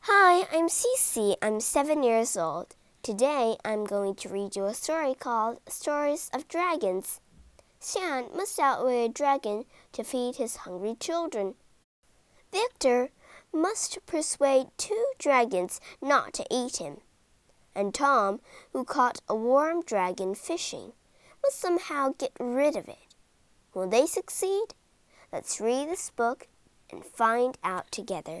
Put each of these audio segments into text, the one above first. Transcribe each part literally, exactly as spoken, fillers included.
Hi, I'm Cece. I'm seven years old. Today I'm going to read you a story called Stories of Dragons. Stan must outwit a dragon to feed his hungry children. Victor must persuade two dragons not to eat him. And Tom, who caught a warm dragon fishing, must somehow get rid of it. Will they succeed? Let's read this book and find out together.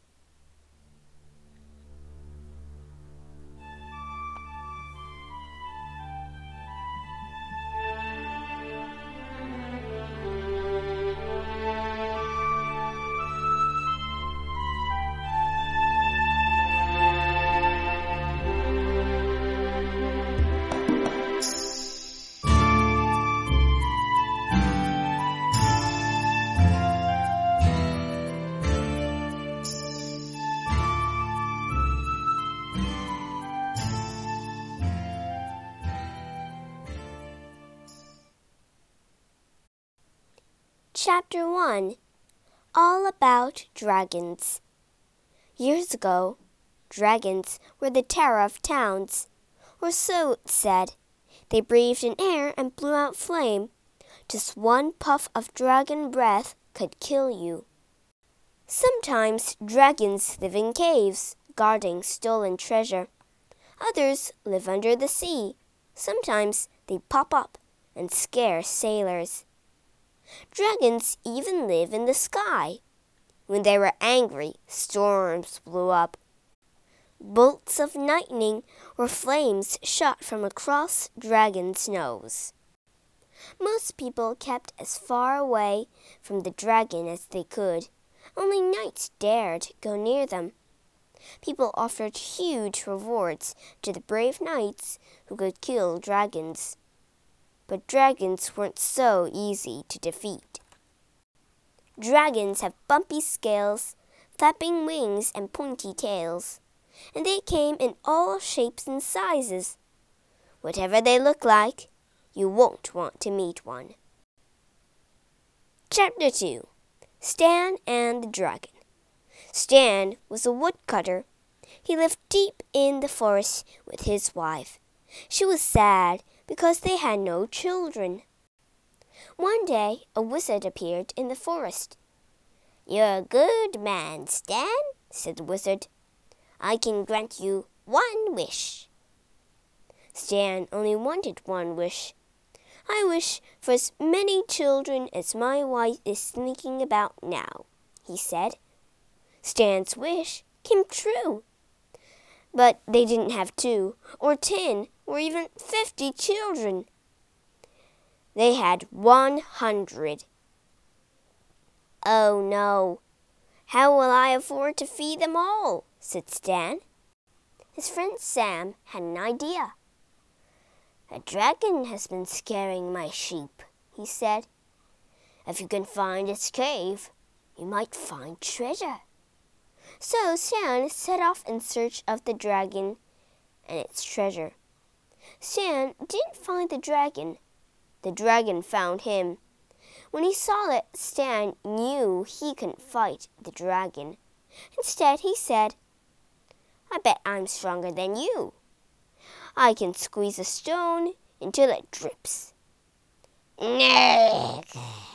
Chapter one. All About Dragons. Years ago, dragons were the terror of towns, or so it said. They breathed in air and blew out flame. Just one puff of dragon breath could kill you. Sometimes dragons live in caves, guarding stolen treasure. Others live under the sea. Sometimes they pop up and scare sailors. Dragons even live in the sky. When they were angry, storms blew up. Bolts of lightning or flames shot from across dragons' nose. Most people kept as far away from the dragon as they could. Only knights dared go near them. People offered huge rewards to the brave knights who could kill dragons. But dragons weren't so easy to defeat. Dragons have bumpy scales, flapping wings, and pointy tails, and they came in all shapes and sizes. Whatever they look like, you won't want to meet one. Chapter two. Stan and the Dragon. Stan was a woodcutter. He lived deep in the forest with his wife. She was sad because they had no children. One day, a wizard appeared in the forest. "You're a good man, Stan," said the wizard. "I can grant you one wish." Stan only wanted one wish. "I wish for as many children as my wife is thinking about now," he said. Stan's wish came true. But they didn't have two, or ten, or even fifty children. They had one hundred. "Oh, no. How will I afford to feed them all?" said Stan. His friend Sam had an idea. "A dragon has been scaring my sheep," he said. "If you can find its cave, you might find treasure." So Stan set off in search of the dragon and its treasure. Stan didn't find the dragon. The dragon found him. When he saw it, Stan knew he couldn't fight the dragon. Instead, he said, "I bet I'm stronger than you. I can squeeze a stone until it drips." "No,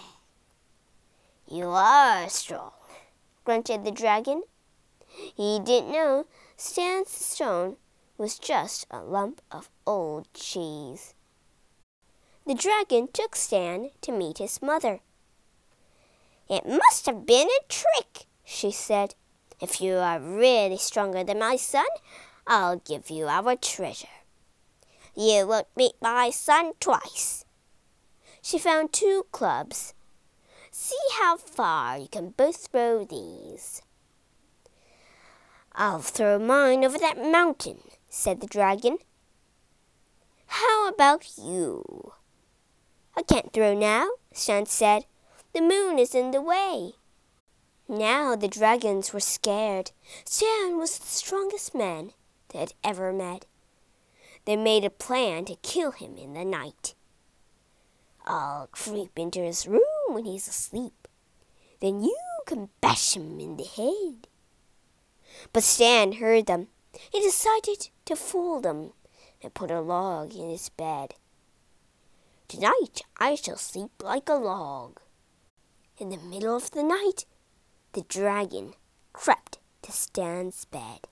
you are strong," grunted the dragon. He didn't know Stan's stone was just a lump of old cheese. The dragon took Stan to meet his mother. "It must have been a trick," she said. "If you are really stronger than my son, I'll give you our treasure. You won't meet my son twice." She found two clubs. "See how far you can both throw these." "I'll throw mine over that mountain," said the dragon. "How about you?" "I can't throw now," Stan said. "The moon is in the way." Now the dragons were scared. Stan was the strongest man they had ever met. They made a plan to kill him in the night. "I'll creep into his room when he's asleep. Then you can bash him in the head." But Stan heard them. He decided to fool them and put a log in his bed. "Tonight I shall sleep like a log." In the middle of the night, the dragon crept to Stan's bed.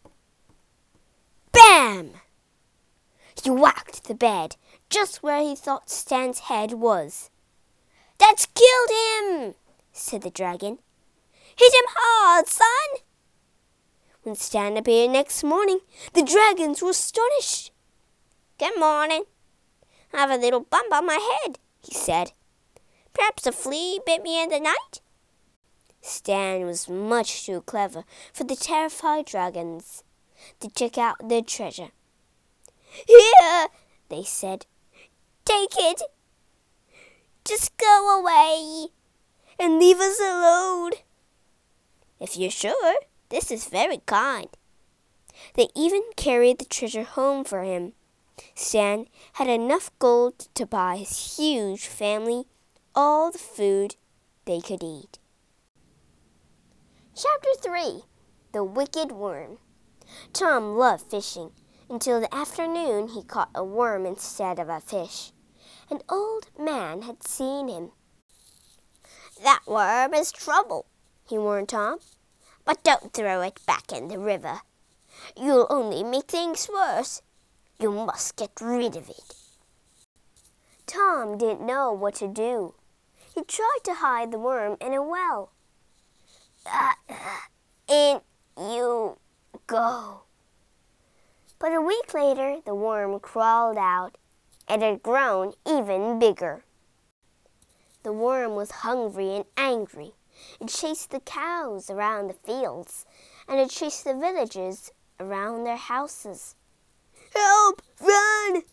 Bam! He whacked the bed just where he thought Stan's head was. "That's killed him," said the dragon. "Hit him hard, son." When Stan appeared next morning, the dragons were astonished. "Good morning. I have a little bump on my head," he said. "Perhaps a flea bit me in the night?" Stan was much too clever for the terrified dragons to check out their treasure. "Here," they said. "Take it. Just go away and leave us alone." "If you're sure, this is very kind." They even carried the treasure home for him. Stan had enough gold to buy his huge family all the food they could eat. Chapter three. The Wicked Worm. Tom loved fishing. Until the afternoon he caught a worm instead of a fish. An old man had seen him. "That worm is trouble," he warned Tom. "But don't throw it back in the river. You'll only make things worse. You must get rid of it." Tom didn't know what to do. He tried to hide the worm in a well. Uh, in you go. But a week later, the worm crawled out. It had grown even bigger. The worm was hungry and angry. It chased the cows around the fields, and it chased the villagers around their houses. "Help! Run!"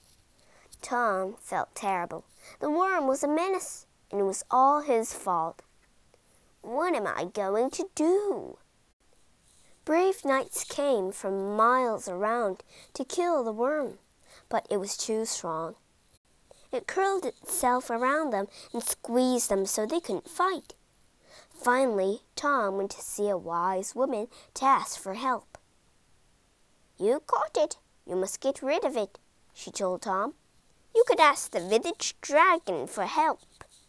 Tom felt terrible. The worm was a menace, and it was all his fault. What am I going to do? Brave knights came from miles around to kill the worm, but it was too strong. It curled itself around them and squeezed them so they couldn't fight. Finally, Tom went to see a wise woman to ask for help. "You caught it. You must get rid of it," she told Tom. "You could ask the village dragon for help."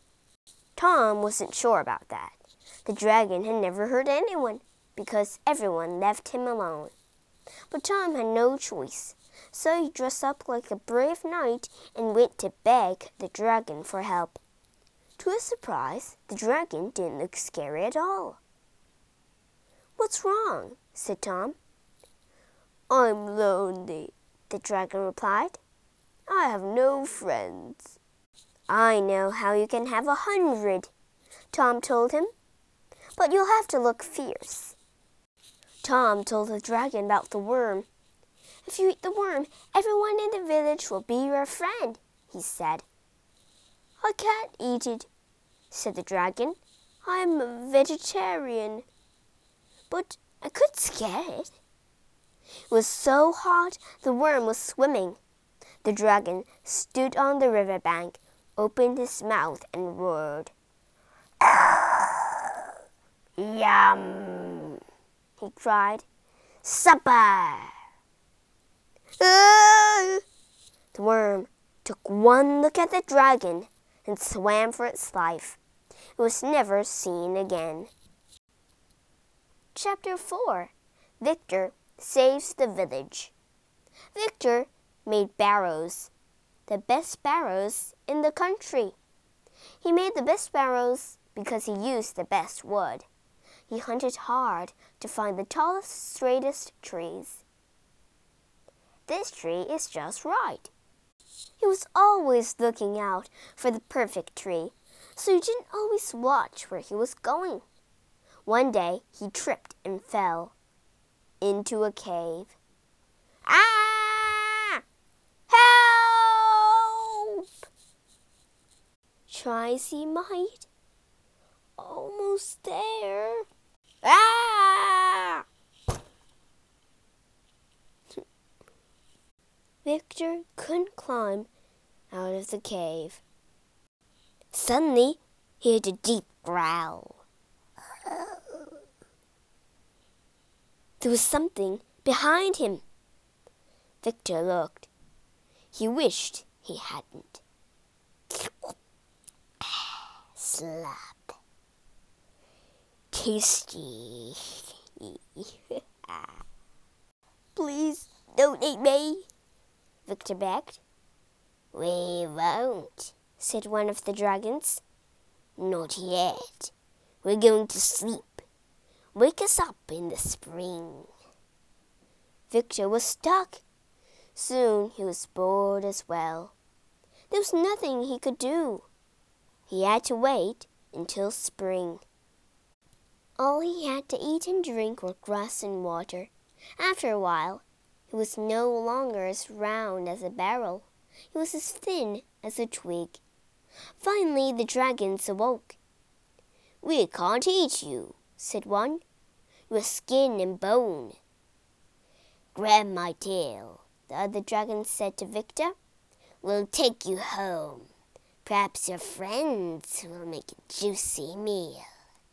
Tom wasn't sure about that. The dragon had never hurt anyone because everyone left him alone. But Tom had no choice, so he dressed up like a brave knight and went to beg the dragon for help. To his surprise, the dragon didn't look scary at all. "What's wrong?" said Tom. "I'm lonely," the dragon replied. "I have no friends." "I know how you can have a hundred," Tom told him. "But you'll have to look fierce." Tom told the dragon about the worm. "If you eat the worm, everyone in the village will be your friend," he said. "I can't eat it," said the dragon. "I'm a vegetarian." "But I could scare it." It was so hot the worm was swimming. The dragon stood on the riverbank, opened his mouth, and roared. "Yum!" he cried. "Supper!" Ah! The worm took one look at the dragon and swam for its life. It was never seen again. Chapter four. Victor Saves the Village. Victor made barrows, the best barrows in the country. He made the best barrows because he used the best wood. He hunted hard to find the tallest, straightest trees. This tree is just right. He was always looking out for the perfect tree, so he didn't always watch where he was going. One day he tripped and fell into a cave. "Ah! Help!" Try as he might. Almost there. Ah! Victor couldn't climb out of the cave. Suddenly, he heard a deep growl. There was something behind him. Victor looked. He wished he hadn't. Slap. Tasty. Please don't eat me, Victor begged. We won't, said one of the dragons. Not yet. We're going to sleep. Wake us up in the spring. Victor was stuck. Soon he was bored as well. There was nothing he could do. He had to wait until spring. All he had to eat and drink were grass and water. After a while, he was no longer as round as a barrel. He was as thin as a twig. Finally, the dragons awoke. We can't eat you, said one. You're skin and bone. Grab my tail, the other dragon said to Victor. We'll take you home. Perhaps your friends will make a juicy meal.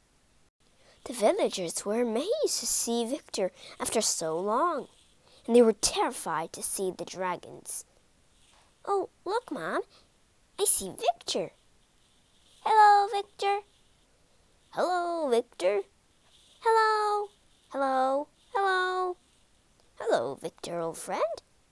The villagers were amazed to see Victor after so long, and they were terrified to see the dragons. Oh, look, Mom, I see Victor. Hello, Victor. Hello, Victor. Hello, hello, hello. Hello, Victor, old friend.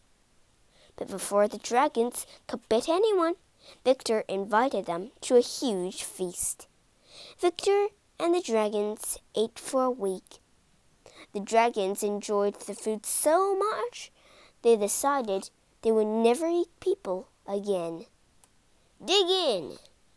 But before the dragons could bite anyone, Victor invited them to a huge feast. Victor and the dragons ate for a week. The dragons enjoyed the food so much, they decided they would never eat people again. Dig in!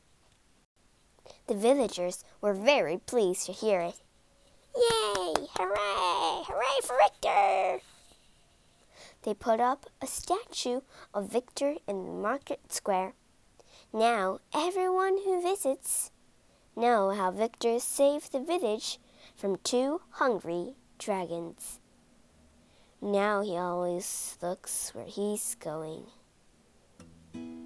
The villagers were very pleased to hear it. Yay! Hooray! Hooray for Victor! They put up a statue of Victor in the market square. Now everyone who visits know how Victor saved the village from two hungry dragons. Now he always looks where he's going.